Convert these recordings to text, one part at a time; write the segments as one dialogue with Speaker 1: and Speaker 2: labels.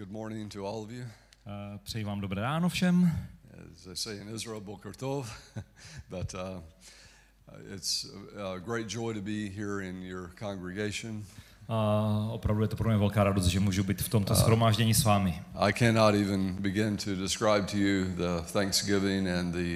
Speaker 1: Good morning to all of you.
Speaker 2: Přeji vám dobré ráno všem.
Speaker 1: As they say in Israel, Boker Tov, but it's a great joy to be here in your congregation.
Speaker 2: Opravdu je to pro mě velká radost, že můžu být v tomto shromáždění s vámi.
Speaker 1: I cannot even begin to describe to you the Thanksgiving and the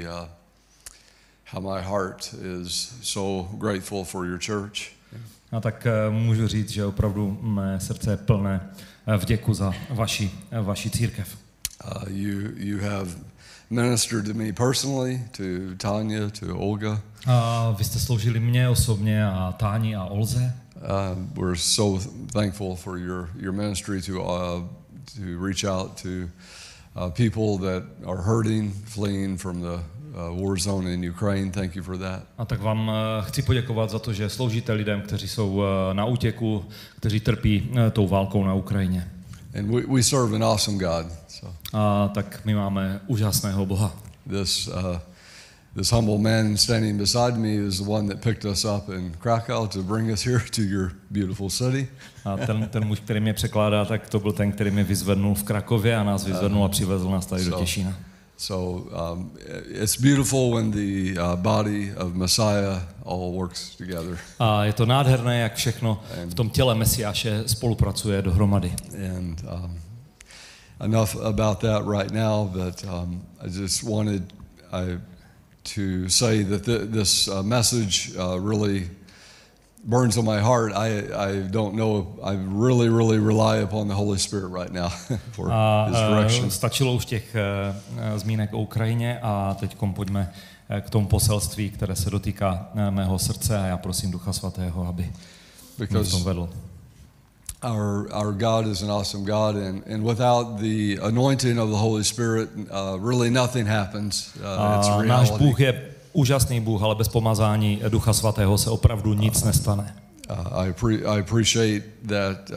Speaker 1: how my heart is so grateful for your church.
Speaker 2: A tak můžu říct, že opravdu mé srdce je plné vděku za vaši církev.
Speaker 1: You have ministered to me personally, to Tanya, to Olga.
Speaker 2: Vy jste sloužili mně osobně a Táni a Olze.
Speaker 1: We're so thankful for your ministry to reach out to people that are hurting, fleeing from the war zone in Ukraine. Thank you for that.
Speaker 2: A tak vám chci poděkovat za to, že sloužíte lidem, kteří jsou na útěku, kteří trpí tou válkou na Ukrajině.
Speaker 1: And we serve an awesome God. So.
Speaker 2: A tak my máme úžasného Boha.
Speaker 1: This humble man standing beside me is the one that picked us up in Krakow to bring us here to your beautiful city.
Speaker 2: A ten muž, který mě překládá, tak to byl ten, který mě vyzvednul v Krakově a nás vyzvednul a přivezl nás tady do Těšína.
Speaker 1: So it's beautiful when the body of Messiah all works together.
Speaker 2: A je to nádherné, jak všechno v tom těle Mesiáše spolupracuje dohromady.
Speaker 1: And enough about that right now, but I just wanted to say that this message really burns on my heart. I don't know. I really rely upon the Holy Spirit right now for His direction.
Speaker 2: Stačilo už těch zmínek o Ukrajině a teďkom pojďme k tomu poselství, které se dotýká mého srdce a já prosím Ducha Svatého, aby mě v tom vedl.
Speaker 1: Our God is an awesome God, and without the anointing of the Holy Spirit, really nothing happens. It's reality.
Speaker 2: Náš Bůh je úžasný Bůh, ale bez pomazání Ducha Svatého se opravdu nic nestane.
Speaker 1: I appreciate that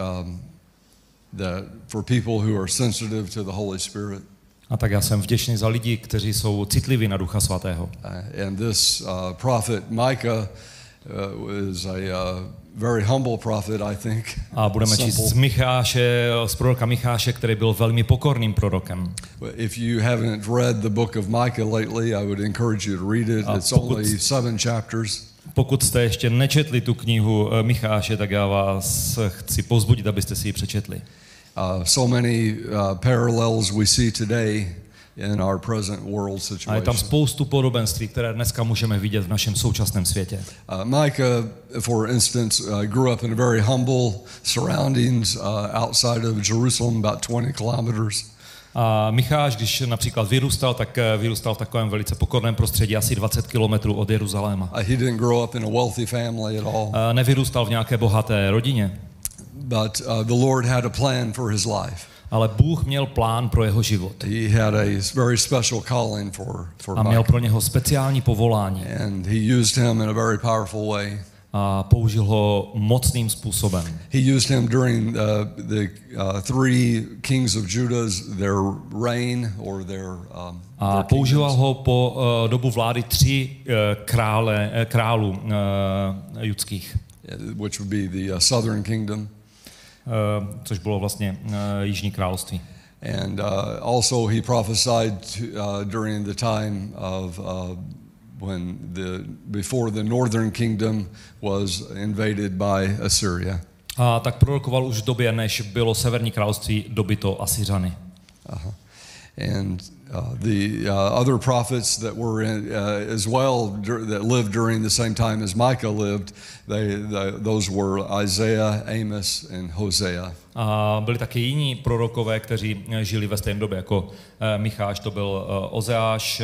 Speaker 1: for people who are sensitive to the Holy Spirit.
Speaker 2: A tak já jsem vděčný za lidi, kteří jsou citliví na Ducha Svatého.
Speaker 1: And this prophet Micah is a very humble prophet, I think.
Speaker 2: A budeme číst z proroka Micháše, který byl velmi pokorným prorokem.
Speaker 1: If you haven't read the book of Micah lately, I would encourage you to read it. It's only 7 chapters.
Speaker 2: Pokud jste ještě nečetli tu knihu Micháše, tak já vás chci povzbudit, abyste si ji přečetli.
Speaker 1: So many parallels we see today in our present world situation.
Speaker 2: A je tam spoustu podobenství, které dneska můžeme vidět v našem současném světě.
Speaker 1: Micah, for instance, grew up in very humble surroundings outside of Jerusalem, about 20 kilometers.
Speaker 2: A Micháš, když například vyrůstal, tak vyrůstal v takovém velice pokorném prostředí, asi 20 kilometrů od Jeruzaléma.
Speaker 1: He didn't grow up in a wealthy family at all.
Speaker 2: Nevyrůstal v nějaké bohaté rodině.
Speaker 1: But the Lord had a plan for his life.
Speaker 2: Ale Bůh měl plán pro jeho život.
Speaker 1: He had a very special calling for
Speaker 2: a měl pro něho speciální povolání.
Speaker 1: And he used him in a very powerful way.
Speaker 2: A použil ho mocným způsobem.
Speaker 1: He used him during the 3 kings of Judah's their reign or their
Speaker 2: a používal ho po dobu vlády 3 králů judských.
Speaker 1: Which would be the southern kingdom.
Speaker 2: Což bylo vlastně Jižní království.
Speaker 1: And also he prophesied during the time of when before the northern kingdom was invaded by Assyria.
Speaker 2: A tak prorokoval už v době, než bylo severní království dobyto Asyřany.
Speaker 1: And the other prophets that were as well that lived during the same time as Micah lived, those were Isaiah, Amos, and Hosea.
Speaker 2: A byli taky jiní prorokové, kteří žili ve stejné době jako Micháš, to byl Ozeáš,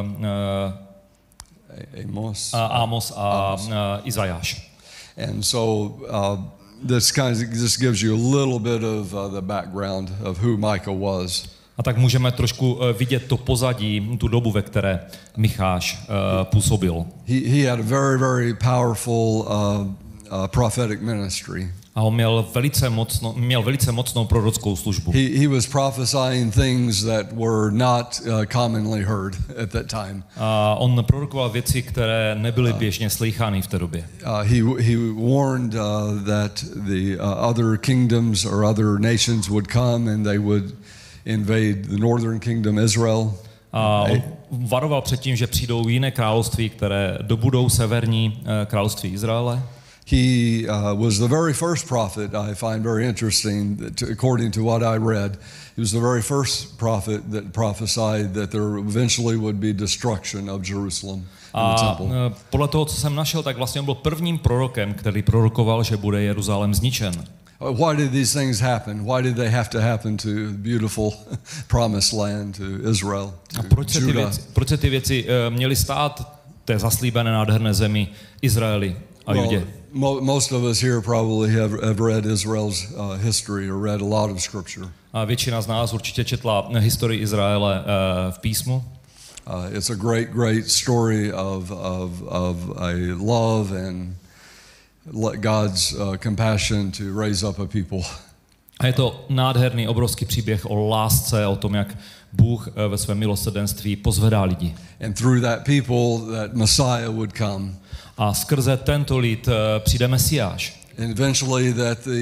Speaker 2: Amos a Izajáš.
Speaker 1: And so this gives you a little bit of the background of who Micah was.
Speaker 2: A tak můžeme trošku vidět to pozadí, tu dobu, ve které Micháš působil.
Speaker 1: He had a very powerful prophetic ministry.
Speaker 2: A on měl velice mocnou prorockou službu.
Speaker 1: He was prophesying things that were not commonly heard at that time.
Speaker 2: A on prorokoval věci, které nebyly běžně slýchány v té době.
Speaker 1: He warned that the other kingdoms or other nations would come and they would invade the northern kingdom Israel.
Speaker 2: A on varoval před tím, že přijdou jiné království, které dobudou severní království Izraele.
Speaker 1: He was the very first prophet I find very interesting, according to what I read. He was the very first prophet that prophesied that there eventually would be destruction of Jerusalem and the temple.
Speaker 2: Podle toho, co jsem našel, tak vlastně on byl prvním prorokem, který prorokoval, že bude Jeruzalém zničen.
Speaker 1: Why did these things happen? Why did they have to happen to beautiful promised land, to Israel, to Judah?
Speaker 2: Proč se ty věci měly stát té zaslíbené nádherné zemi Izraeli a Judě?
Speaker 1: Most of us here probably have read Israel's history or read a lot of scripture.
Speaker 2: A většina z nás určitě četla historii Izraele v písmu.
Speaker 1: It's a great story of a love and God's compassion to raise up a people.
Speaker 2: A je to nádherný, obrovský příběh o lásce, o tom, jak Bůh ve svém milosrdenství pozvedá lidi.
Speaker 1: And through that people, that Messiah would come.
Speaker 2: A skrze tento lid přijde Mesiáš.
Speaker 1: And eventually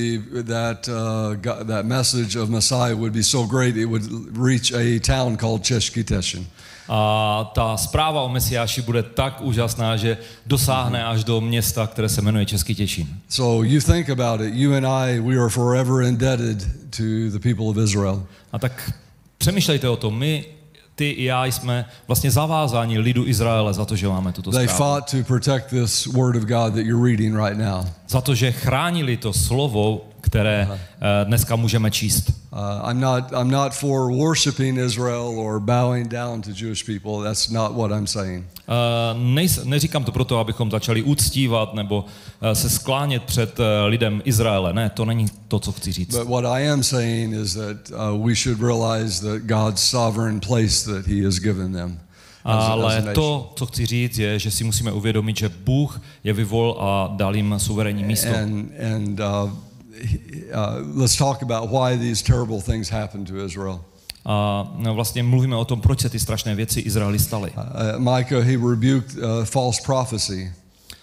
Speaker 1: that message of Messiah would be so great it would reach a town called Český Těšín.
Speaker 2: A ta zpráva o Mesiáši bude tak úžasná, že dosáhne až do města, které se jmenuje Český Těšín.
Speaker 1: So you think about it, you and I, we are forever indebted to the people of Israel.
Speaker 2: A tak přemýšlejte o tom, my, ty i já jsme vlastně zavázáni lidu Izraele za to, že máme tuto zprávu.
Speaker 1: They fought to protect this word of God that you're reading right now.
Speaker 2: Za to, že chránili to slovo, které dneska můžeme číst.
Speaker 1: I'm not for worshiping Israel or bowing down to Jewish people. That's not what I'm saying.
Speaker 2: Neříkám to proto, abychom začali uctívat nebo se sklánět před lidem Izraele. Ne, to není to, co chci říct.
Speaker 1: But what I am saying is that we should realize that God's sovereign place that he has given them.
Speaker 2: Ale to, co chci říct, je, že si musíme uvědomit, že Bůh je vyvolil a dal jim suverénní místo.
Speaker 1: Let's talk about why these terrible things happened to Israel.
Speaker 2: A vlastně mluvíme o tom, proč se ty strašné věci Izraeli staly.
Speaker 1: Micah, he rebuked false prophecy.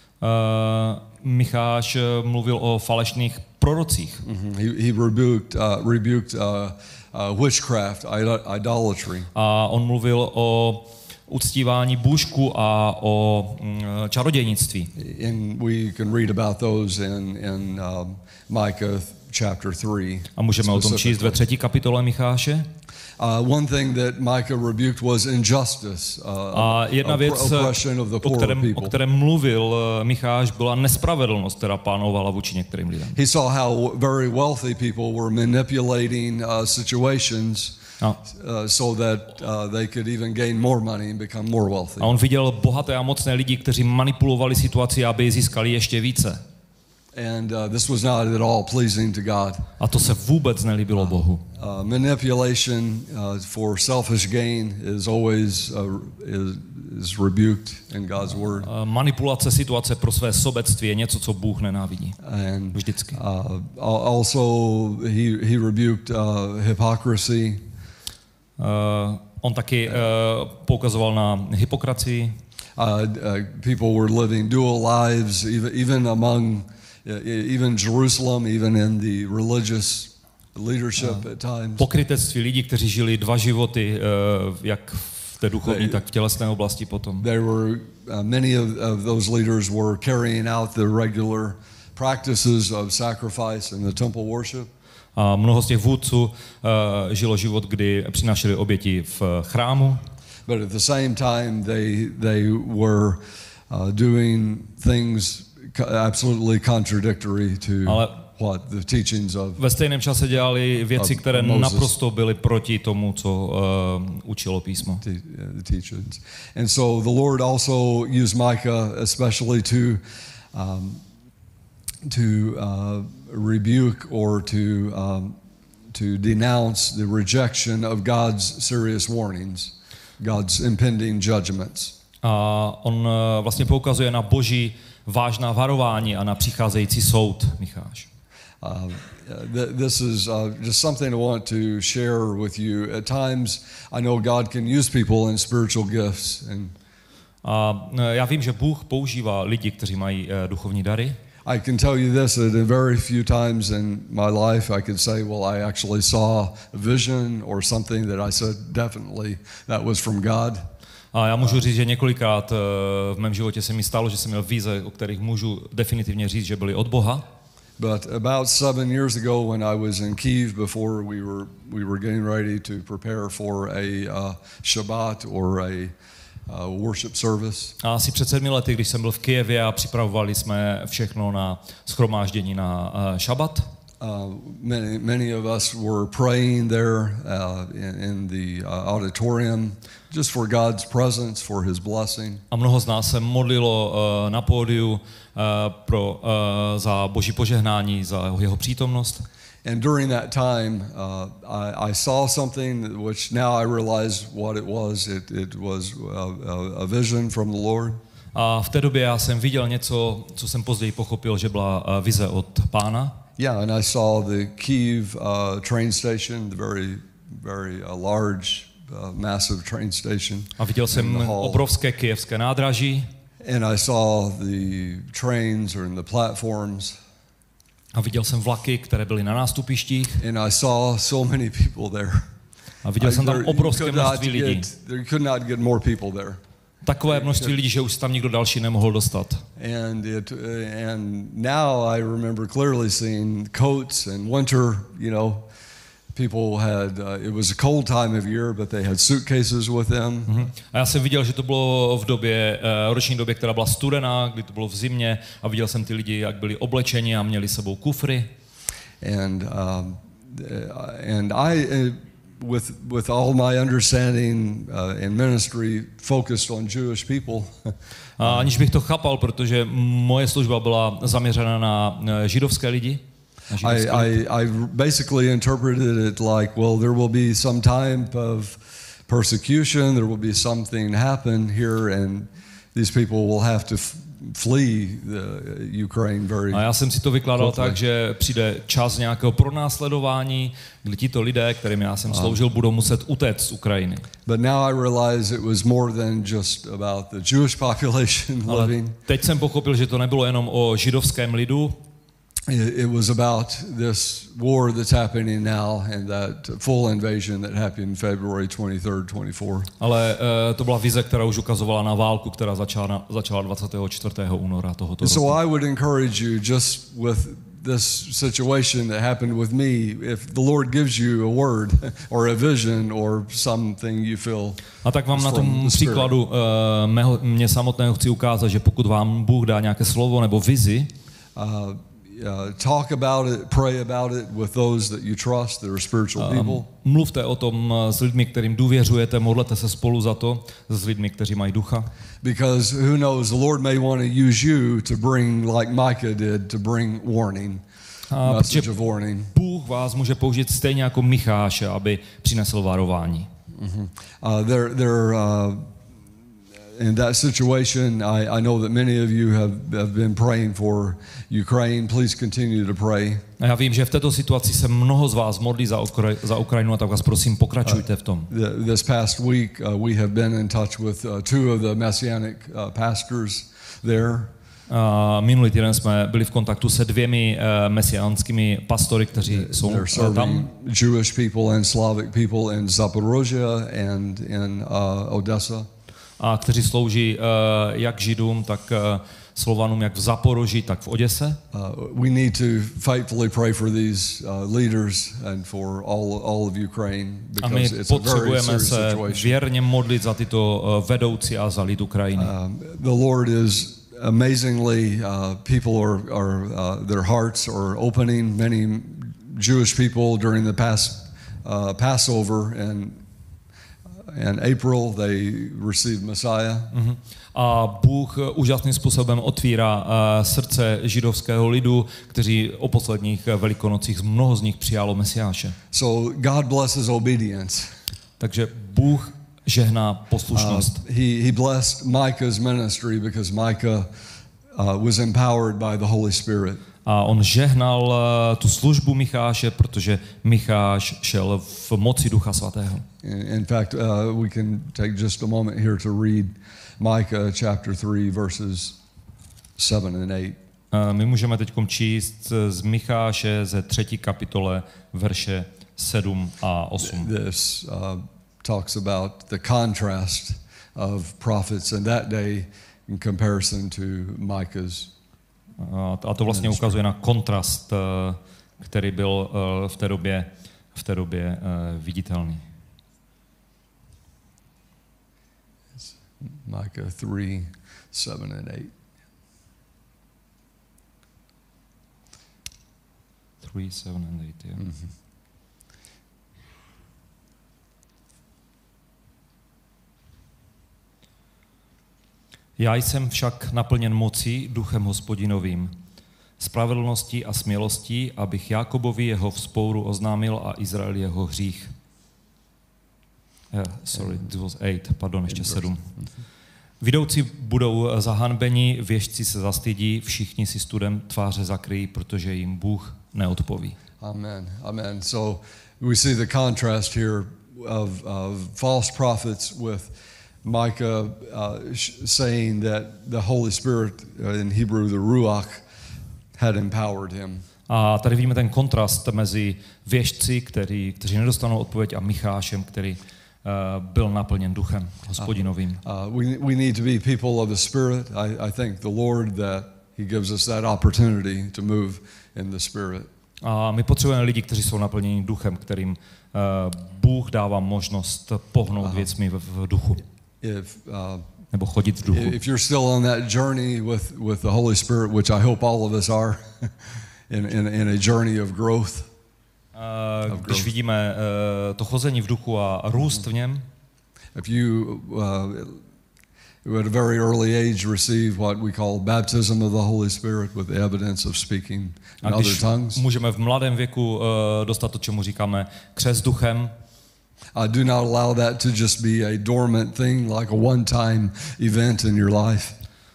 Speaker 2: Micháš mluvil o falešných prorocích.
Speaker 1: He rebuked witchcraft, idolatry.
Speaker 2: A on mluvil o uctívání bůžku a o čarodějnictví.
Speaker 1: And we can read about those in Micah chapter 3.
Speaker 2: A můžeme o tom číst ve 3. kapitole Micháše.
Speaker 1: One thing that Micah rebuked was injustice,
Speaker 2: a jedna věc, o které mluvil Micháš, byla nespravedlnost, která panovala vůči některým lidem.
Speaker 1: He saw how very wealthy people were manipulating situations so that they could even gain more money and become more wealthy.
Speaker 2: A on viděl bohaté a mocné lidi, kteří manipulovali situaci, aby získali ještě více.
Speaker 1: And this was not at all pleasing to God.
Speaker 2: A to se vůbec nelíbilo Bohu.
Speaker 1: Manipulation for selfish gain is always is rebuked in God's word.
Speaker 2: Manipulace situace pro své sobectví je něco, co Bůh nenávidí. Vždycky.
Speaker 1: Also he rebuked hypocrisy.
Speaker 2: On taky poukazoval na hypokracii.
Speaker 1: People were living dual lives, even among even Jerusalem, even in the religious leadership at times.
Speaker 2: Pokrytectví lidí, kteří žili dva životy, jak v té duchovní, tak v tělesné oblasti potom.
Speaker 1: There were many of those leaders were carrying out the regular practices of sacrifice in the temple worship.
Speaker 2: A mnoho z těch vůdců žilo život, kdy přinášeli oběti v chrámu.
Speaker 1: But at the same time they were doing things absolutely contradictory to what the teachings of.
Speaker 2: Ve stejném čase dělali věci, které naprosto byly proti tomu, co učilo písmo.
Speaker 1: The teachings. And so the Lord also used Micah especially to rebuke or to denounce the rejection of God's serious warnings, God's impending judgments.
Speaker 2: A on vlastně poukazuje na Boží vážná varování a na přicházející soud, Micháš.
Speaker 1: This is just something I want to share with you. At times, I know God can use people in spiritual gifts.
Speaker 2: A já vím, že Bůh používá lidi, kteří mají duchovní dary.
Speaker 1: I can tell you this, that in very few times in my life I could say, well, I actually saw a vision or something that I said definitely that was from God.
Speaker 2: A já můžu říct, že několikrát v mém životě se mi stalo, že jsem měl vize, o kterých můžu definitivně říct, že byly od Boha.
Speaker 1: But about 7 years ago, when I was in Kyiv, before we were getting ready to prepare for a Shabbat or a worship service.
Speaker 2: A asi před 7 lety, když jsem byl v Kyjevě a připravovali jsme všechno na shromáždění na šabat.
Speaker 1: Many of us were praying there in the auditorium just for God's presence, for His blessing.
Speaker 2: A mnoho z nás se modlilo na pódiu za Boží požehnání, za jeho přítomnost.
Speaker 1: And during that time, I saw something which now I realize what it was. It was a vision from the Lord.
Speaker 2: A v té době já jsem viděl něco, co jsem později pochopil, že byla vize od Pána.
Speaker 1: Yeah, and I saw the Kyiv train station, the very large, massive train station.
Speaker 2: A viděl jsem obrovské kyjevské nádraží.
Speaker 1: And I saw the trains or in the platforms.
Speaker 2: A viděl jsem vlaky, které byly na nástupištích.
Speaker 1: And I saw so many people there.
Speaker 2: A viděl jsem tam obrovské množství lidí.
Speaker 1: There could not get more people there.
Speaker 2: Takové množství lidí, že už tam nikdo další nemohl dostat.
Speaker 1: And now I remember clearly seeing coats and winter, people had, it was a cold time of year, but they had suitcases with them.
Speaker 2: A já jsem viděl, že to bylo v roční době, která byla studená, kdy to bylo v zimě, a viděl jsem ty lidi, jak byli oblečeni a měli sebou kufry.
Speaker 1: And I with all my understanding in ministry focused on Jewish people.
Speaker 2: A aniž bych to chápal, protože moje služba byla zaměřena na židovské lidi.
Speaker 1: I basically interpreted it like, well, there will be some type of persecution, there will be something happen here, and these people will have to flee the Ukraine very.
Speaker 2: A já jsem si to vykládal tak, že přijde čas nějakého pronásledování, kdy tito lidé, kterým já jsem sloužil, budou muset utéct z Ukrajiny.
Speaker 1: But now I realize it was more than just about the Jewish population living.
Speaker 2: Ale teď jsem pochopil, že to nebylo jenom o židovském lidu.
Speaker 1: It was about this war that's happening now and that full invasion that happened February 23rd, 24.
Speaker 2: Ale to byla vize, která už ukazovala na válku, která začala 24. února tohoto roku.
Speaker 1: So I would encourage you, just with this situation that happened with me, if the Lord gives you a word or a vision or something you feel.
Speaker 2: A tak vám na tom příkladu mě samotného chci ukázat, že pokud vám Bůh dá nějaké slovo nebo vizi,
Speaker 1: talk about it, pray about it with those that you trust, that are spiritual people.
Speaker 2: Mluvte o tom s lidmi, kterým důvěřujete, modlete se spolu za to s lidmi, kteří mají ducha.
Speaker 1: Because who knows, the Lord may want to use you to bring, like Micah did, to bring warning. Message of warning.
Speaker 2: Bůh vás může použít stejně jako Micháše, aby přinesl varování.
Speaker 1: In that situation, I know that many of you have been praying for Ukraine. Please continue to pray.
Speaker 2: A já vím, že v této situaci se mnoho z vás modlí za Ukrajinu, a tak vás prosím, pokračujte v tom.
Speaker 1: This past week, we have been in touch with two of the Messianic pastors there.
Speaker 2: Minulý týden jsme byli v kontaktu se dvěmi mesiánskými pastory, kteří jsou tam.
Speaker 1: Jewish people and Slavic people in Zaporozhye and in Odessa.
Speaker 2: A kteří slouží jak Židům, tak Slovanům, jak v Zaporoží, tak v Oděse.
Speaker 1: We need to faithfully pray for these leaders and for all of Ukraine, because it's a very serious situation.
Speaker 2: Potřebujeme se věrně modlit za tyto vedoucí a za lid Ukrajiny.
Speaker 1: The Lord is amazingly, people are their hearts are opening. Many Jewish people during the past Passover and April they received Messiah.
Speaker 2: A Bůh úžasným způsobem otvírá srdce židovského lidu, kteří o posledních Velikonocích mnoho z nich přijalo Mesiáše.
Speaker 1: So God blesses obedience.
Speaker 2: Takže Bůh žehná poslušnost.
Speaker 1: He blessed Micah's ministry because Micah was empowered by the Holy Spirit.
Speaker 2: A on žehnal tu službu Micháše, protože Micháš šel v moci Ducha Svatého.
Speaker 1: In fact, we can take just a moment here to read Micah chapter 3 verses 7 and 8.
Speaker 2: My můžeme teď číst z Micháše ze 3. kapitole verše 7 a 8.
Speaker 1: This talks about the contrast of prophets in that day in comparison to Micah's.
Speaker 2: A to vlastně ukazuje na kontrast, který byl v té době viditelný.
Speaker 1: Micah 3, 7 and 8.
Speaker 2: 3, 7 and 8, yeah.
Speaker 1: Mm-hmm.
Speaker 2: Já jsem však naplněn mocí Duchem Hospodinovým, spravedlností a smělostí, abych Jákobovi jeho vzpouru oznámil a Izrael jeho hřích. It was 8, pardon, ještě 7. Vidoucí budou zahanbeni, věštci se zastydí, všichni si studem tváře zakryjí, protože jim Bůh neodpoví.
Speaker 1: Amen. Amen. So we see the contrast here of false prophets with Micah saying that the Holy Spirit, in Hebrew the Ruach, had empowered him.
Speaker 2: A tady vidíme ten kontrast mezi věštci, kteří nedostanou odpověď, a Michášem, který byl naplněn Duchem Hospodinovým.
Speaker 1: We need to be people of the Spirit. I thank the Lord that He gives us that opportunity to move in the Spirit.
Speaker 2: A my potřebujeme lidi, kteří jsou naplněni Duchem, kterým Bůh dává možnost pohnout věcmi v duchu. Nebo chodit v duchu.
Speaker 1: If you're still on that journey with the Holy Spirit, which I hope all of us are, in a journey of growth.
Speaker 2: Když vidíme to chození v duchu a růst v něm.
Speaker 1: If you at a very early age receive what we call baptism of the Holy Spirit with the evidence of speaking in other tongues.
Speaker 2: Můžeme v mladém věku dostat to, čemu říkáme křest duchem.
Speaker 1: Do not allow that to just be a dormant thing, like a one-time event in your life.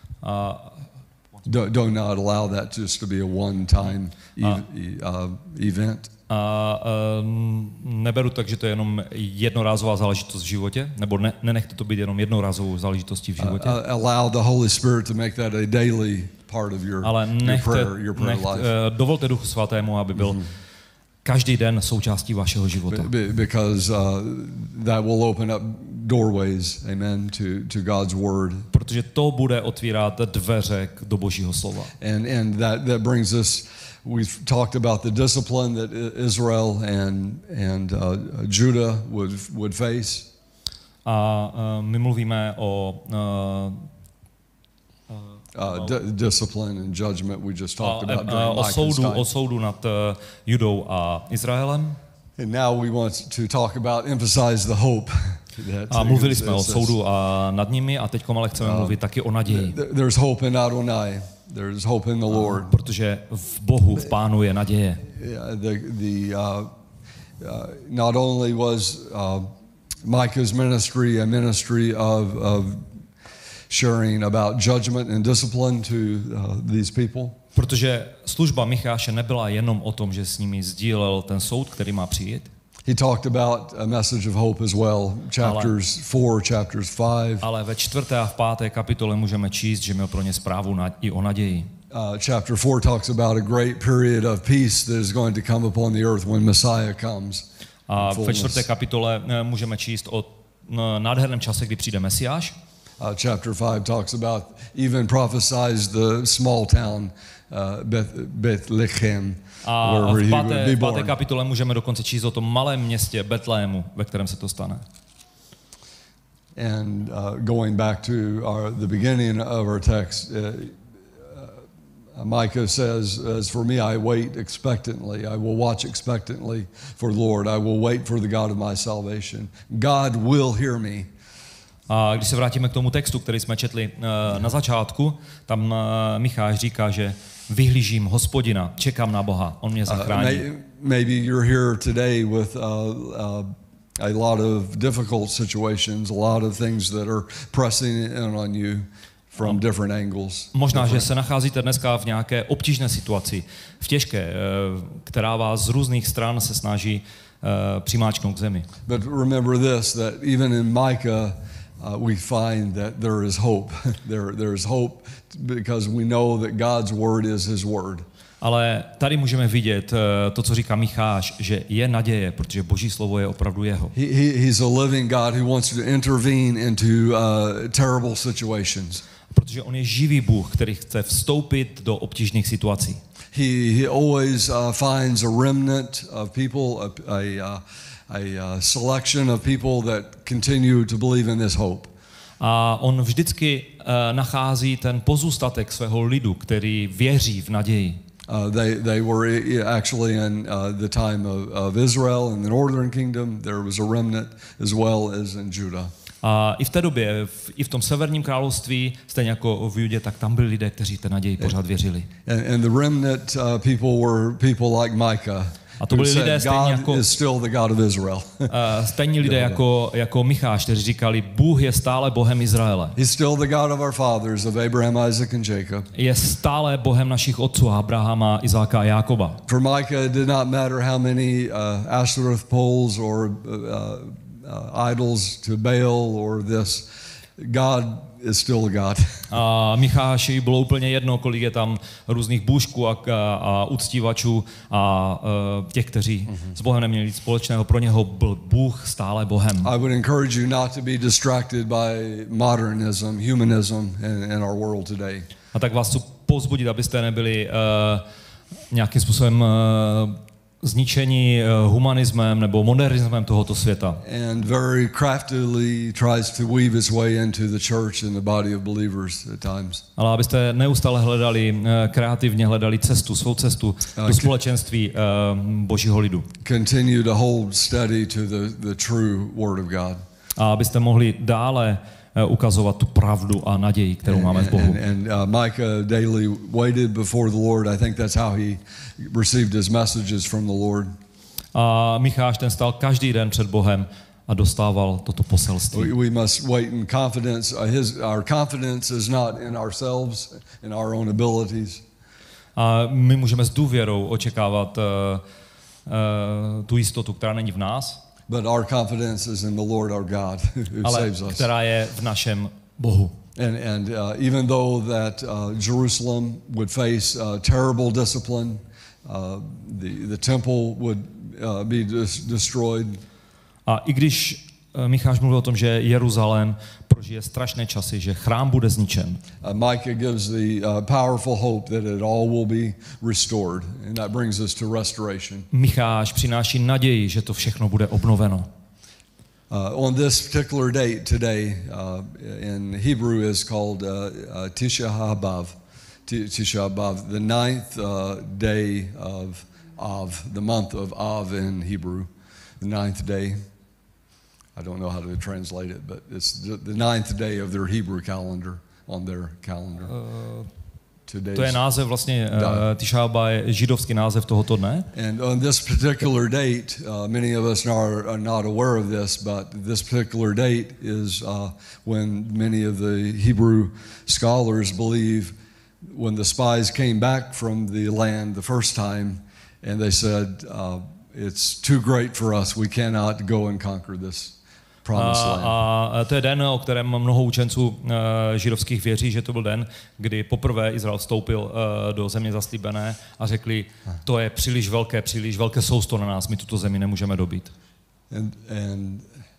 Speaker 1: Do not allow that just to be a one-time event.
Speaker 2: Neberu tak, že to je jenom jednorázová záležitost v životě, nebo nenechte to být jenom jednorázovou záležitostí v životě.
Speaker 1: Allow the Holy Spirit to make that a daily part of your prayer life.
Speaker 2: Dovolte Duchu Svatému, aby byl každý den součástí vašeho života.
Speaker 1: Because that will open up doorways, amen, to God's word.
Speaker 2: Protože to bude otvírat dveře do Božího slova.
Speaker 1: And that brings us. We've talked about the discipline that Israel and Judah would face.
Speaker 2: A my mluvíme o
Speaker 1: discipline and judgment we just talked about during Micah's time.
Speaker 2: O soudu nad Judou a Izraelem.
Speaker 1: And now we want to talk about emphasize the hope.
Speaker 2: A mluvili jsme o soudu a nad nimi, a teď ale chceme mluvit taky o naději.
Speaker 1: There's hope in Adonai. There's hope in the Lord.
Speaker 2: Protože v Bohu, v Pánu je naděje.
Speaker 1: Not only was Micah's ministry a ministry of sharing about judgment and discipline to these people.
Speaker 2: Protože služba Micháše nebyla jenom o tom, že s nimi sdílel ten soud, který má přijít.
Speaker 1: He talked about a message of hope as well, chapters 4, chapters 5.
Speaker 2: Ale ve 4. a v 5. kapitole můžeme číst, že měl pro ně zprávu i o naději.
Speaker 1: Chapter 4 talks about a great period of peace that is going to come upon the earth when Messiah comes.
Speaker 2: A ve 4. kapitole můžeme číst o nádherném čase, kdy přijde Mesiáš.
Speaker 1: Chapter 5 talks about even prophesies the small town Bethlehem.
Speaker 2: A v 5. kapitole můžeme dokonce číst o tom malém městě Betlému, ve kterém se to stane.
Speaker 1: And going back to the beginning of our text, Micah says, "As for me, I wait expectantly. I will watch expectantly for the Lord. I will wait for the God of my salvation. God will hear me."
Speaker 2: A když se vrátíme k tomu textu, který jsme četli na začátku, tam Micháš říká, že vyhlížím Hospodina, čekám na Boha, on mě zachrání.
Speaker 1: Maybe you're here today with a lot of difficult situations, a lot of things that are pressing in on you from different angles.
Speaker 2: Možná, že se nacházíte dneska v nějaké obtížné situaci, v těžké, která vás z různých stran se snaží přimáčknout k zemi.
Speaker 1: But remember this, that even in Micah we find that there is hope. There is hope because we know that God's word is his word.
Speaker 2: Ale tady můžeme vidět to, co říká Micháš, že je naděje, protože Boží slovo je opravdu jeho.
Speaker 1: He's a living God who wants to intervene into terrible situations.
Speaker 2: Protože on je živý Bůh, který chce vstoupit do obtížných situací.
Speaker 1: He always finds a remnant of people, a selection of people that continue to believe in this hope.
Speaker 2: A on vždycky nachází ten pozůstatek svého lidu, který věří v naději.
Speaker 1: They were actually in the time of Israel in the northern kingdom. There was a remnant as well as in Judah.
Speaker 2: A i v té době, i v tom severním království, stejně jako v Judě, tak tam byli lidé, kteří té naději pořád věřili.
Speaker 1: And the remnant people were people like Micah.
Speaker 2: A to byli lidé stejně jako
Speaker 1: God is still the God of Israel.
Speaker 2: Stejní lidé jako Micháš, kteří říkali, Bůh je stále Bohem Izraele.
Speaker 1: He's still the God of our fathers, of Abraham, Isaac and Jacob.
Speaker 2: Je stále Bohem našich otců, Abrahama, Izáka a Jákoba.
Speaker 1: For Micah it did not matter how many Ashtoreth poles or idols to Baal or this. God is still a God.
Speaker 2: A Micháši bylo úplně jedno, kolik je tam různých bůžků a uctívačů a těch, kteří s Bohem neměli nic společného. Pro něho byl Bůh stále Bohem.
Speaker 1: I would encourage you not to be distracted by modernism, humanism in our world today.
Speaker 2: A tak vás chci povzbudit, abyste nebyli nějakým způsobem zničení humanismem nebo modernismem tohoto světa.
Speaker 1: And very craftily tries to weave its way into the church and the body of believers at times.
Speaker 2: Ale abyste neustále kreativně hledali svou cestu do společenství Božího lidu.
Speaker 1: Continue to hold steady to the true word of God.
Speaker 2: A abyste mohli dále ukazovat tu pravdu a naději, kterou máme v Bohu.
Speaker 1: And Micah daily waited before the Lord. I think that's how he received his messages from the Lord.
Speaker 2: A Micháš ten stál každý den před Bohem a dostával toto poselství.
Speaker 1: We must wait in confidence. Our confidence is not in ourselves, in our own abilities.
Speaker 2: A my můžeme s důvěrou očekávat tu jistotu, která není v nás,
Speaker 1: but our confidence is in the Lord our God who saves us.
Speaker 2: Která je v našem Bohu.
Speaker 1: And even though that Jerusalem would face terrible discipline, the temple would be destroyed.
Speaker 2: A i když Micháš mluvil o tom, že Jeruzalém prožije strašné časy, že chrám bude zničen.
Speaker 1: Micah gives the powerful hope that it all will be restored, and that brings us to restoration.
Speaker 2: Micháš přináší naději, že to všechno bude obnoveno.
Speaker 1: On this particular date today, in Hebrew is called Tisha B'Av, the ninth day of Av, the month of Av in Hebrew, the ninth day. I don't know how to translate it, but it's the ninth day of their Hebrew calendar, on their calendar.
Speaker 2: To je název vlastně Tisha B'Av je židovský název tohoto dne.
Speaker 1: And on this particular date, many of us are not aware of this, but this particular date is when many of the Hebrew scholars believe when the spies came back from the land the first time, and they said, it's too great for us, we cannot go and conquer this.
Speaker 2: A to je den, o kterém mnoho učenců židovských věří, že to byl den, kdy poprvé Izrael vstoupil do země zaslíbené a řekli, to je příliš velké sousto na nás, my tuto zemi nemůžeme dobít.
Speaker 1: And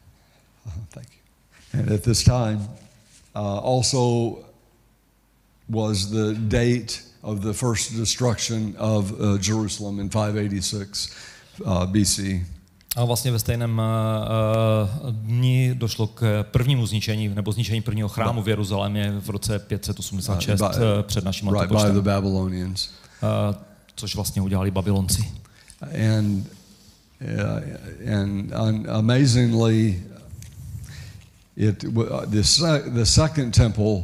Speaker 1: at this time also was the date of the first destruction of Jerusalem in 586 BC.
Speaker 2: A vlastně ve stejném dni došlo k prvnímu zničení, nebo zničení prvního chrámu v Jeruzalémě v roce 586 před naším letopočtem.
Speaker 1: By the Babylonians.
Speaker 2: Což vlastně udělali Babylonci.
Speaker 1: And amazingly, the second temple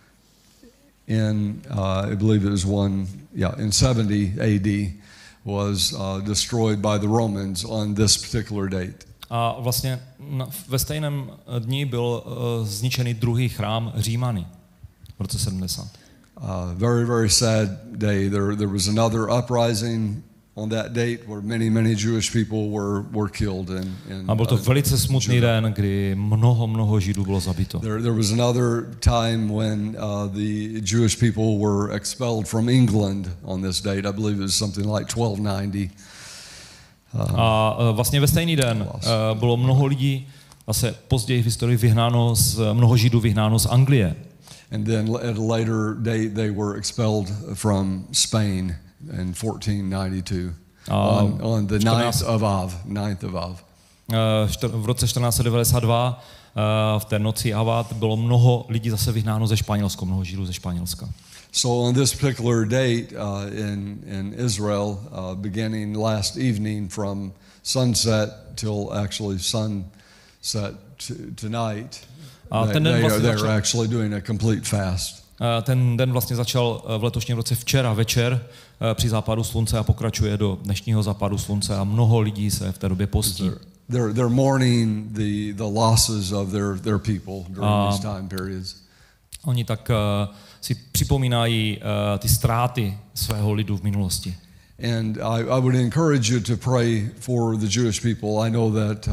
Speaker 1: in I believe it was in 70 AD was destroyed by the Romans on this particular date.
Speaker 2: A vlastně ve stejném dni byl zničený druhý chrám Římany. v roce 70.
Speaker 1: Very, very sad day. There was another uprising on that date where many Jewish people were killed.
Speaker 2: A byl to velice smutný den, kdy mnoho Židů bylo zabito.
Speaker 1: There was another time when the Jewish people were expelled from England on this date. I believe it was something like 1290.
Speaker 2: A vlastně ve stejný den bylo mnoho lidí, zase později v historii mnoho Židů vyhnáno z Anglie.
Speaker 1: And then at a later date they were expelled from Spain in 1492 on the 9th of Av.
Speaker 2: V roce 1492 v té noci Avat bylo mnoho lidí zase vyhnáno ze Španělska, mnoho Židů ze Španělska.
Speaker 1: So on this particular date in Israel, beginning last evening from sunset till actually sunset tonight, they're actually doing a complete fast.
Speaker 2: Ten den vlastně začal v letošním roce včera večer při západu slunce a pokračuje do dnešního západu slunce a mnoho lidí se v té době postí.
Speaker 1: They're mourning the losses of their people during these time periods.
Speaker 2: Oni tak si připomínají ty ztráty svého lidu v minulosti.
Speaker 1: And I would encourage you to pray for the Jewish people. I know that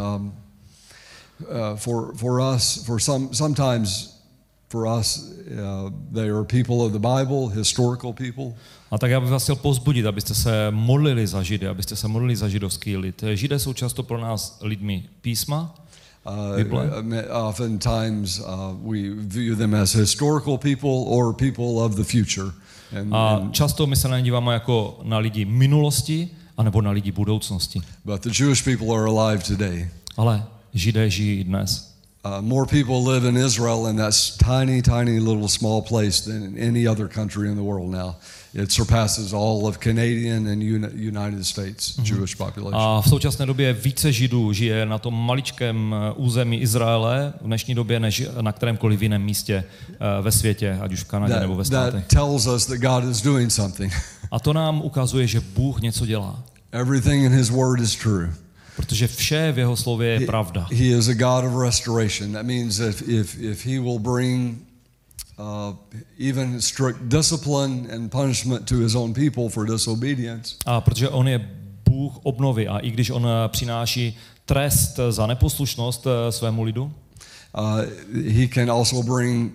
Speaker 1: for us, sometimes for us, they are people of the Bible, historical people.
Speaker 2: A tak já bych vás chtěl povzbudit, abyste se modlili za Židy, abyste se modlili za židovský lid. Židé jsou často pro nás lidmi písma, Bible.
Speaker 1: Oftentimes we view them as historical people or people of the future.
Speaker 2: A často my se na ně díváme jako na lidi minulosti, anebo na lidi budoucnosti.
Speaker 1: But the Jewish people are alive today.
Speaker 2: Ale Židé žijí dnes.
Speaker 1: More people live in Israel in that tiny little small place than in any other country in the world now. It surpasses all of Canadian and United States Jewish population.
Speaker 2: A v současné době více Židů žije na tom maličkém území Izraele v dnešní době než na kterémkoliv jiném místě ve světě, ať už v Kanadě nebo ve státech.
Speaker 1: That tells us that God is doing something.
Speaker 2: A to nám ukazuje, že Bůh něco dělá.
Speaker 1: Everything in his word is true.
Speaker 2: Protože vše v jeho slově je pravda.
Speaker 1: He is a God of restoration. That means if he will bring even strict discipline and punishment to his own people for disobedience.
Speaker 2: A protože on je Bůh obnovy a i když on přináší trest za neposlušnost svému lidu,
Speaker 1: he can also bring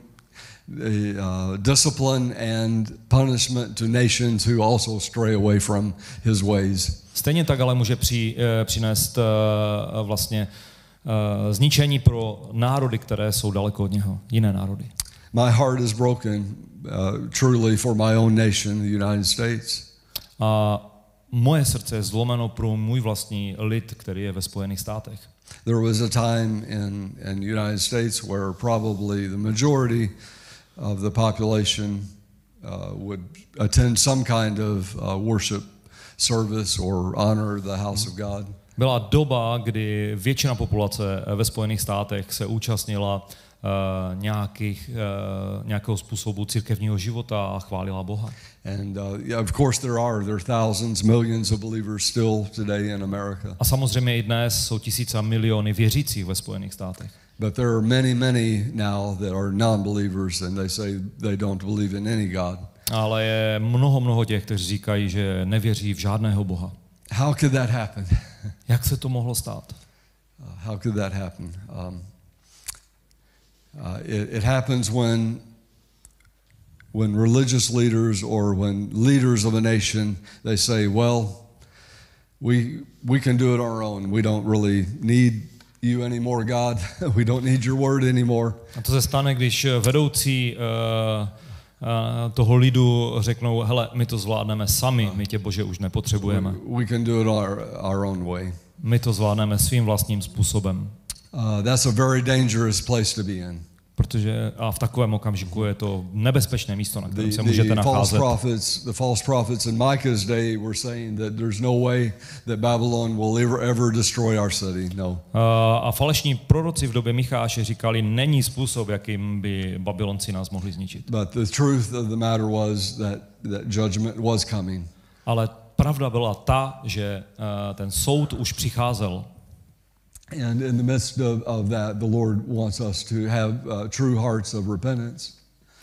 Speaker 1: discipline and punishment to nations who also stray away from his ways.
Speaker 2: Stejně tak ale může přinést vlastně zničení pro národy, které jsou daleko od něho, jiné národy.
Speaker 1: My heart is broken truly for my own nation, the United States.
Speaker 2: A moje srdce je zlomeno pro můj vlastní lid, který je ve Spojených státech.
Speaker 1: There was a time in the United States where probably the majority of the population would attend some kind of worship service or honor the house of God.
Speaker 2: Byla doba, kdy většina populace ve Spojených státech se účastnila nějakého způsobu církevního života a chválila Boha.
Speaker 1: And of course there are thousands, millions of believers still today in America.
Speaker 2: A samozřejmě i dnes jsou tisíce a miliony věřících ve Spojených státech.
Speaker 1: But there are many now that are non-believers and they say they don't believe in any God.
Speaker 2: Ale je mnoho těch, kteří říkají, že nevěří v žádného Boha.
Speaker 1: How could that happen?
Speaker 2: Jak se to mohlo stát?
Speaker 1: How could that happen? It happens when religious leaders or when leaders of a nation, they say, well, we can do it our own. We don't really need you anymore, God. We don't need your word anymore.
Speaker 2: A to se stane, když vedoucí toho lidu řeknou, hele, my to zvládneme sami, my tě, Bože, už nepotřebujeme.
Speaker 1: We can do it our own way.
Speaker 2: My to zvládneme svým vlastním způsobem.
Speaker 1: That's a very dangerous place to be in.
Speaker 2: Protože a v takovém okamžiku je to nebezpečné místo, na kterém se můžete nacházet.
Speaker 1: The false prophets in Micah's day were saying that there's no way that Babylon will ever destroy our city. No.
Speaker 2: A falešní proroci v době Micháše říkali, není způsob, jakým by Babylonci nás mohli zničit.
Speaker 1: But the truth of the matter was that judgment was coming.
Speaker 2: Ale pravda byla ta, že ten soud už přicházel.
Speaker 1: And in the midst of that, the Lord wants us to have true hearts of repentance.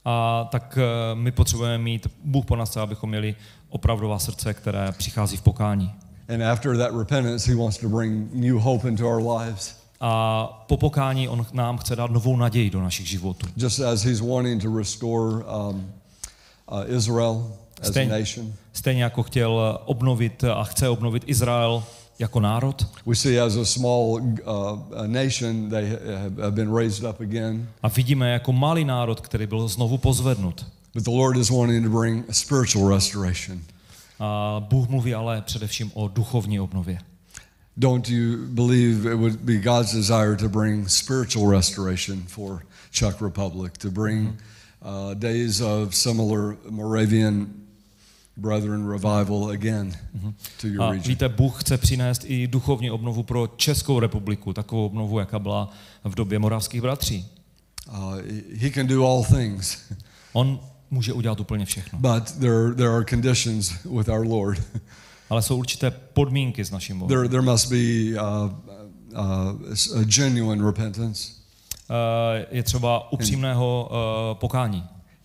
Speaker 2: A tak my potřebujeme mít, Bůh po nás chce, abychom měli opravdová srdce, které přichází v pokání.
Speaker 1: And after that repentance, he wants to bring new hope into our lives.
Speaker 2: A po pokání on nám chce dát novou naději do našich životů.
Speaker 1: Just as he's wanting to restore Israel as a nation.
Speaker 2: Stejně jako chtěl obnovit a chce obnovit Izrael jako národ.
Speaker 1: We see as a small nation they have been raised up again.
Speaker 2: A vidíme jako malý národ, který byl znovu pozvednut.
Speaker 1: But the Lord is wanting to bring a spiritual restoration.
Speaker 2: A Bůh mluví ale především o duchovní obnově.
Speaker 1: Don't you believe it would be God's desire to bring spiritual restoration for Czech Republic, to bring days of similar Moravian Brethren revival again to your region?
Speaker 2: Víte, Bůh chce přinést i duchovní obnovu pro Českou republiku, takovou obnovu, jaká byla v době moravských bratří.
Speaker 1: He can do all things.
Speaker 2: On může udělat úplně všechno.
Speaker 1: But there are conditions with our Lord.
Speaker 2: Ale jsou určité podmínky s naším Bohem.
Speaker 1: There must be a genuine repentance.
Speaker 2: Je třeba upřímného pokání.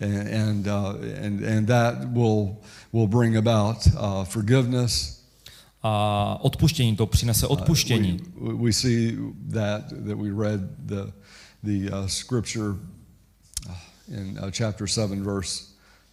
Speaker 1: And that will bring about forgiveness.
Speaker 2: A odpuštění, to přinese odpuštění.
Speaker 1: We see that we read the scripture in chapter 7 verse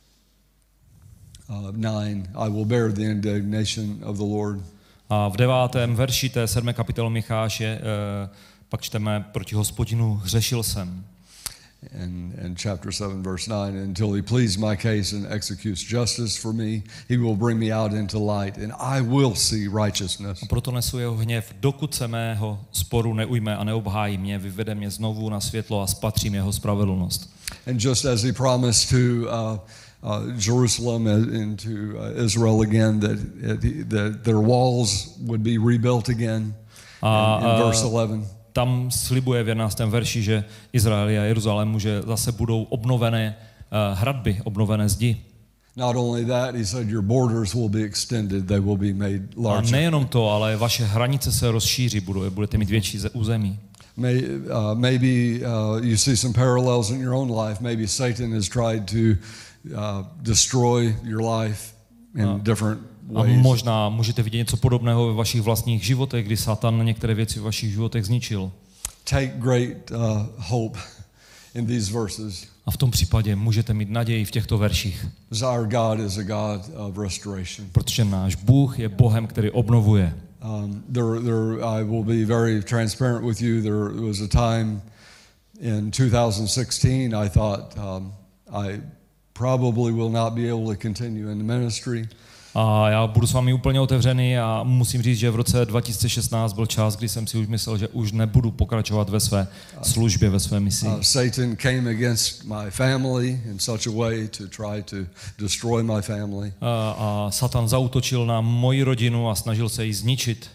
Speaker 1: 9. I will bear the indignation of the Lord.
Speaker 2: A v 9. verši té 7. kapitoly Micháše pak čteme proti Hospodinu hřešil jsem.
Speaker 1: And chapter 7 verse 9, until he pleads my case and executes justice for me, he will bring me out into light and I will see righteousness.
Speaker 2: A proto nesu jeho hněv, dokud se mého sporu neujme a neobhájí mě, vyvede mě znovu na světlo a spatřím jeho spravedlnost.
Speaker 1: And just as he promised to Jerusalem and to Israel again that their walls would be rebuilt again in verse 11.
Speaker 2: Tam slibuje v 11. verši, že Izrael a Jeruzalému, že zase budou obnovené hradby, obnovené zdi.
Speaker 1: Not only that, he said your borders will be extended, they will be made larger.
Speaker 2: A nejenom to, ale vaše hranice se rozšíří, budete mít větší území.
Speaker 1: Maybe you see some parallels in your own life. Maybe Satan has tried to destroy your life in different ways.
Speaker 2: A možná můžete vidět něco podobného ve vašich vlastních životech, kdy Satan některé věci v vašich životech zničil.
Speaker 1: Take great hope in these verses.
Speaker 2: A v tom případě můžete mít naději v těchto verších.
Speaker 1: Our God is a God of restoration.
Speaker 2: Protože náš Bůh je Bohem, který obnovuje.
Speaker 1: I will be very transparent with you. There was a time in 2016 I thought I probably will not be able to continue in the ministry.
Speaker 2: A já budu s vámi úplně otevřený a musím říct, že v roce 2016 byl čas, kdy jsem si už myslel, že už nebudu pokračovat ve své službě, ve své misi.
Speaker 1: Satan came against my family in such a way to try to destroy my family.
Speaker 2: A Satan zaútočil na moji rodinu a snažil se ji zničit.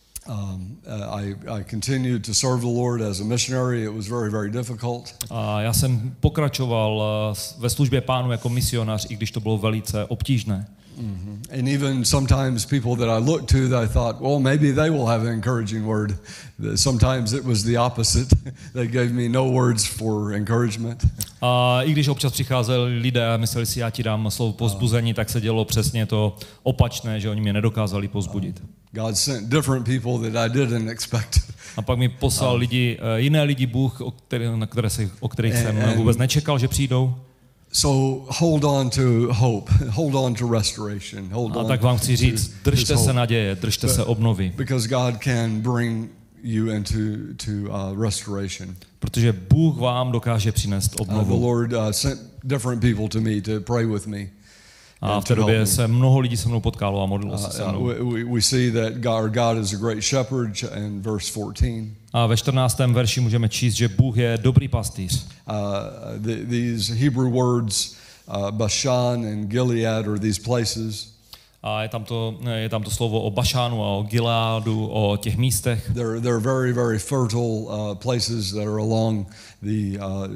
Speaker 1: I continued to serve the Lord as a missionary. It was very, very difficult.
Speaker 2: A já jsem pokračoval ve službě Pánu jako misionář, i když to bylo velice obtížné.
Speaker 1: And even sometimes people that I looked to, that I thought, well, maybe they will have an encouraging word. Sometimes it was the opposite. They gave me no words for encouragement.
Speaker 2: A i když občas přicházeli lidé a mysleli si, já ti dám slovo povzbuzení, tak se dělo přesně to opačné, že oni mě nedokázali povzbudit.
Speaker 1: God sent different people that I didn't expect.
Speaker 2: A pak mi poslal jiné lidi Bůh, o kterých jsem vůbec nečekal, že přijdou.
Speaker 1: So hold on to hope, hold on to restoration, hold on.
Speaker 2: A tak vám chci říct, držte se naděje, držte se obnovy.
Speaker 1: Because God can bring you into restoration.
Speaker 2: Protože Bůh vám dokáže přinést obnovu.
Speaker 1: The Lord sent different people to me to pray with me.
Speaker 2: A v té době se mnoho lidí se mnou potkalo a modlilo se se mnou.
Speaker 1: We see that our God is a great shepherd in verse 14.
Speaker 2: A ve 14. verši můžeme číst, že Bůh je dobrý pastýř.
Speaker 1: These Hebrew words, Bashan and Gilead, are these places.
Speaker 2: A je tam to slovo o Bašánu a o Gileádu, o těch místech.
Speaker 1: They're very, very fertile places that are along the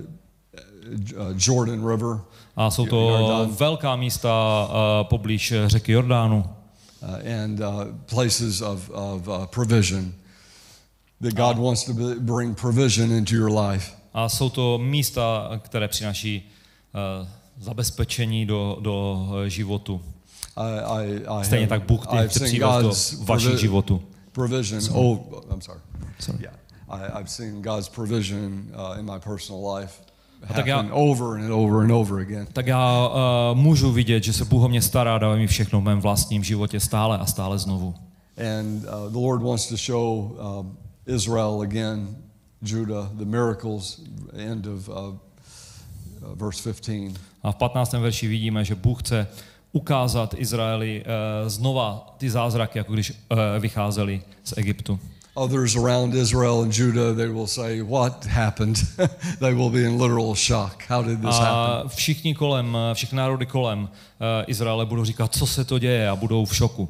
Speaker 1: Jordan River.
Speaker 2: A jsou to velká místa poblíž řeky Jordánu.
Speaker 1: And places of provision. That God wants to bring provision into your life.
Speaker 2: A jsou to místa, které přináší zabezpečení do životu.
Speaker 1: I
Speaker 2: Stejně tak Bůh
Speaker 1: I've
Speaker 2: chce
Speaker 1: seen
Speaker 2: přivést do
Speaker 1: God's
Speaker 2: vašich životů.
Speaker 1: provision. I'm sorry.
Speaker 2: Sorry.
Speaker 1: Yeah, I've seen God's provision in my personal life
Speaker 2: tak já-
Speaker 1: happen over and over and over again.
Speaker 2: Tak já můžu vidět, že se Bůh o mě stará, dává mi všechno v mém vlastním životě stále a stále znovu.
Speaker 1: And the Lord wants to show Israel again, Judah, the miracles, end of verse 15.
Speaker 2: A v 15. verši vidíme, že Bůh chce ukázat Izraeli znova ty zázraky, jako když vycházeli z Egyptu.
Speaker 1: Others around Israel and Judah, they will say, what happened? They will be in literal shock. How did this happen?
Speaker 2: A všichni národy kolem Izraele budou říkat, co se to děje, a budou v šoku.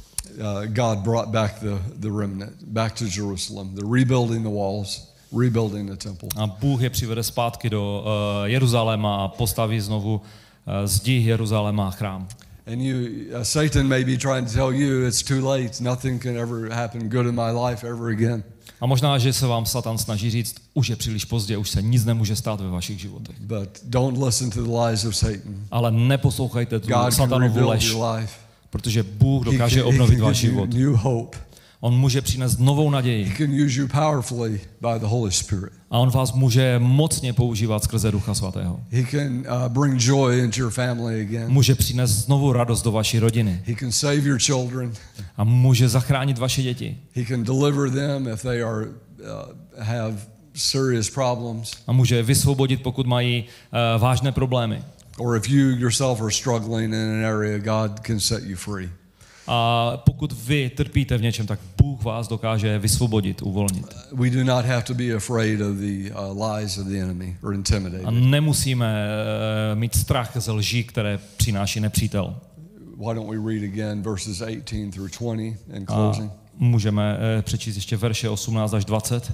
Speaker 1: God brought back the remnant, back to Jerusalem. They're rebuilding the walls, rebuilding the temple.
Speaker 2: A Bůh je přivede zpátky do Jeruzaléma a postaví znovu zdi Jeruzaléma a chrám.
Speaker 1: And Satan may be trying to tell you it's too late. Nothing can ever happen good in my life ever again.
Speaker 2: A možná, že se vám Satan snaží říct, už je příliš pozdě, už se nic nemůže stát ve vašich životech.
Speaker 1: But don't listen to the lies of Satan.
Speaker 2: Ale neposlouchejte tu
Speaker 1: God can
Speaker 2: satanovu
Speaker 1: rebuild
Speaker 2: lež,
Speaker 1: your life.
Speaker 2: protože Bůh
Speaker 1: He
Speaker 2: dokáže
Speaker 1: can
Speaker 2: obnovit váš
Speaker 1: give you
Speaker 2: život.
Speaker 1: new hope.
Speaker 2: On může přinést novou
Speaker 1: He
Speaker 2: naději
Speaker 1: can use you powerfully by the Holy Spirit.
Speaker 2: a on vás může mocně používat skrze Ducha Svatého.
Speaker 1: He can bring joy into your family again.
Speaker 2: Může přinést znovu radost do vaší rodiny
Speaker 1: He can save your children.
Speaker 2: a může zachránit vaše děti
Speaker 1: He can deliver them if they have serious problems,
Speaker 2: a může je vysvobodit, pokud mají vážné problémy.
Speaker 1: or if you yourself are struggling in an area, God can set you free.
Speaker 2: A pokud vy trpíte v něčem, tak Bůh vás dokáže vysvobodit, uvolnit.
Speaker 1: We do not have to be afraid of the lies of the enemy or
Speaker 2: A
Speaker 1: intimidated.
Speaker 2: nemusíme mít strach ze lží, které přináší nepřítel.
Speaker 1: Why don't we read again verses 18 through 20 in
Speaker 2: A
Speaker 1: closing?
Speaker 2: můžeme přečíst ještě verše 18 až 20.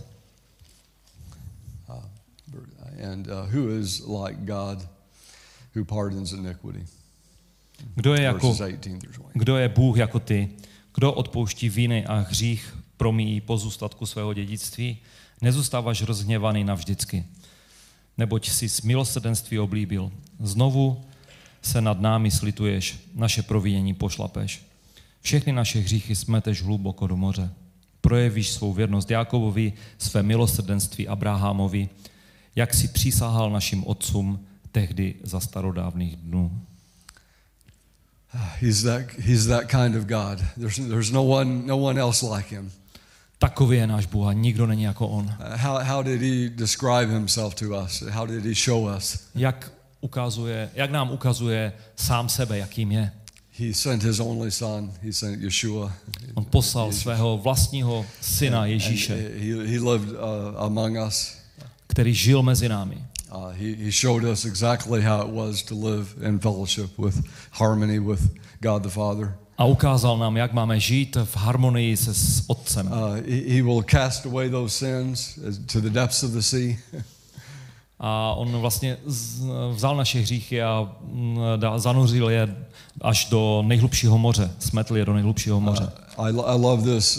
Speaker 1: And who is like God who pardons iniquity?
Speaker 2: Kdo je
Speaker 1: Verses 18 through 20.
Speaker 2: Kdo je Bůh jako ty? Kdo odpouští viny a hřích promíjí pozůstatku svého dědictví? Nezůstáváš rozhněvaný navždycky, neboť jsi s milosrdenství oblíbil. Znovu se nad námi slituješ, naše provinění pošlapeš. Všechny naše hříchy smeteš hluboko do moře. Projevíš svou věrnost Jákobovi, své milosrdenství Abrahamovi, jak si přísahal našim otcům tehdy za starodávných dnů.
Speaker 1: He's that kind of God. There's no one else like him.
Speaker 2: Takový je náš Bůh a nikdo není jako on.
Speaker 1: How did he describe himself to us? How did he show us?
Speaker 2: Jak nám ukazuje sám sebe, jakým je.
Speaker 1: He sent his only son. He sent Yeshua.
Speaker 2: On poslal svého vlastního syna Ježíše,
Speaker 1: He lived among us.
Speaker 2: který žil mezi námi.
Speaker 1: He showed us exactly how it was to live in fellowship with harmony with God the Father.
Speaker 2: A ukázal nám, jak máme žít v harmonii se s Otcem.
Speaker 1: He will cast away those sins to the depths of the sea.
Speaker 2: A on vlastně vzal naše hříchy a zanuřil je až do nejhlubšího moře. Smetl je do nejhlubšího moře.
Speaker 1: I love this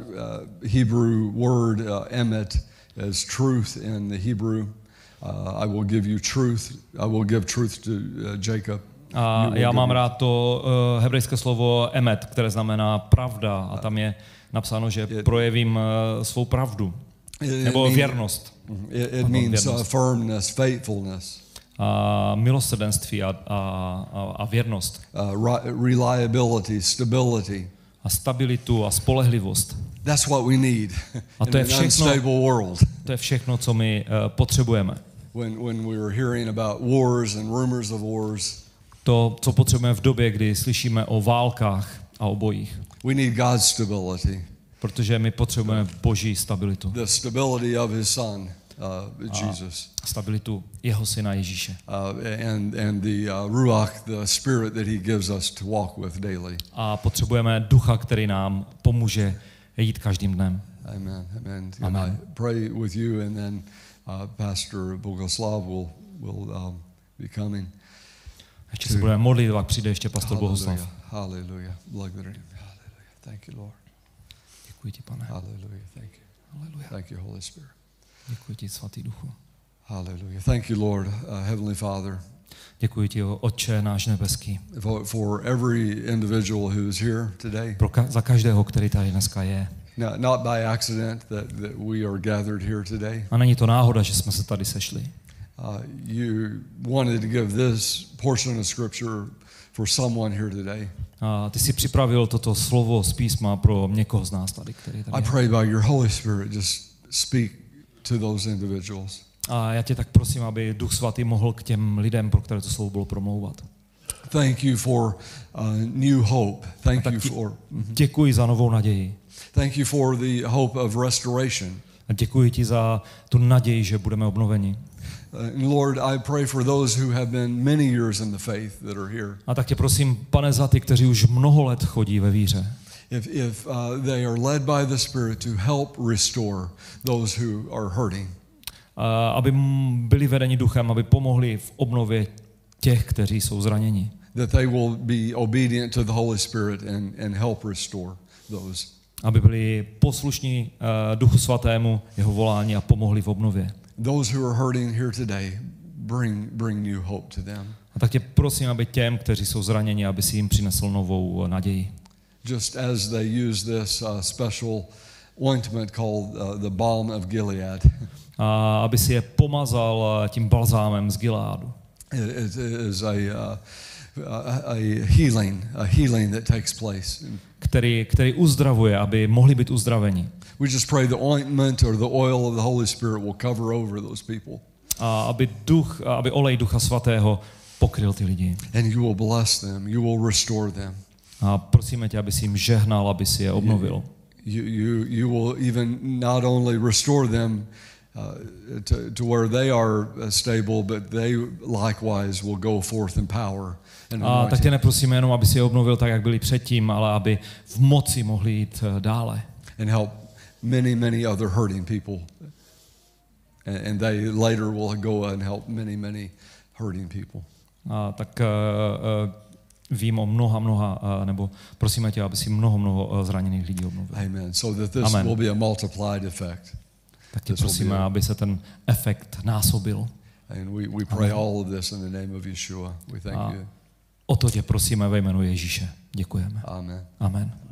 Speaker 1: Hebrew word emet as truth in the Hebrew. I will give you truth. I will give truth to Jacob.
Speaker 2: A já mám rád to hebrejské slovo emet, které znamená pravda. A tam je napsáno, že projevím svou pravdu. Nebo věrnost.
Speaker 1: It means firmness, faithfulness.
Speaker 2: A milosrdenství a věrnost.
Speaker 1: Reliability, stability.
Speaker 2: A stabilitu a spolehlivost.
Speaker 1: That's what we need in an unstable world.
Speaker 2: To je všechno, co my potřebujeme.
Speaker 1: When we are hearing about wars and rumors of wars.
Speaker 2: To, co potřebujeme v době, kdy slyšíme o válkách a o bojích.
Speaker 1: We need God's stability.
Speaker 2: Protože my potřebujeme Boží stabilitu.
Speaker 1: The stability of his son, Jesus.
Speaker 2: Stabilitu jeho syna Ježíše.
Speaker 1: And the ruach, the spirit that he gives us to walk with daily.
Speaker 2: A potřebujeme ducha, který nám pomůže jít každým dnem.
Speaker 1: Amen. Amen.
Speaker 2: Amen.
Speaker 1: And I pray with you, and then Pastor Bogoslav will be coming.
Speaker 2: Ještě se budeme modlit, pak přijde ještě pastor Bohuslav.
Speaker 1: Hallelujah. Hallelujah. Thank you, Lord.
Speaker 2: Děkuji ti, Pane.
Speaker 1: Hallelujah. Thank you.
Speaker 2: Hallelujah.
Speaker 1: Thank you, Holy Spirit.
Speaker 2: Děkuji ti, svatý duchu.
Speaker 1: Hallelujah. Thank you, Lord, Heavenly Father.
Speaker 2: Děkuji ti, Otče náš nebeský,
Speaker 1: for every individual who is here today.
Speaker 2: za každého, který tady dneska je.
Speaker 1: Not by accident that we are gathered here today.
Speaker 2: A není to náhoda, že jsme se tady sešli.
Speaker 1: You wanted to give this portion of scripture for someone here today.
Speaker 2: A ty jsi připravil toto slovo z písma pro někoho z nás tady, který tady
Speaker 1: I pray by your Holy Spirit just speak to those individuals.
Speaker 2: A já tě tak prosím, aby Duch Svatý mohl k těm lidem, pro které to slovo bylo, promlouvat.
Speaker 1: Thank you for new hope. Thank you for
Speaker 2: Děkuji za novou naději.
Speaker 1: Thank you for the hope of restoration.
Speaker 2: A děkuji ti za tu naději, že budeme obnoveni.
Speaker 1: Lord, I pray for those who have been many years in the faith that are here.
Speaker 2: A tak tě prosím, Pane, za ty, kteří už mnoho let chodí ve víře.
Speaker 1: If they are led by the Spirit to help restore those who are hurting.
Speaker 2: Aby byli vedeni duchem, aby pomohli v obnově těch, kteří jsou zraněni.
Speaker 1: That they will be obedient to the Holy Spirit and help restore those.
Speaker 2: Aby byli poslušní Duchu Svatému, jeho volání a pomohli v obnově.
Speaker 1: Those who are hurting here today, bring new hope to them.
Speaker 2: A tak tě prosím, aby těm, kteří jsou zraněni, aby si jim přinesl novou naději.
Speaker 1: Just as they use this special ointment called the balm of Gilead.
Speaker 2: A aby si je pomazal tím balzámem z Gileádu.
Speaker 1: It is a healing that takes place.
Speaker 2: Který uzdravuje, aby mohli být uzdraveni.
Speaker 1: We just pray the ointment or the oil of the Holy Spirit will cover over those people.
Speaker 2: A aby olej Ducha Svatého pokryl ty lidi.
Speaker 1: And you will bless them, you will restore them.
Speaker 2: A prosíme tě, aby si jim žehnal, aby si je obnovil.
Speaker 1: You will even not only restore them to where they are stable, but they likewise will go forth in power.
Speaker 2: A tak tě neprosíme jenom, aby si je obnovil tak, jak byli předtím, ale aby v moci mohli jít dále.
Speaker 1: And help many other hurting people. And they later will go and help many hurting people.
Speaker 2: A tak vím o mnoha, nebo prosíme tě, aby si mnoho zraněných lidí obnovil.
Speaker 1: Amen. So that this will be a multiplied effect.
Speaker 2: Tak tě prosíme, aby se ten efekt násobil.
Speaker 1: And we pray all of this in the name of Yeshua. We thank you.
Speaker 2: O to tě prosíme ve jménu Ježíše. Děkujeme.
Speaker 1: Amen.
Speaker 2: Amen.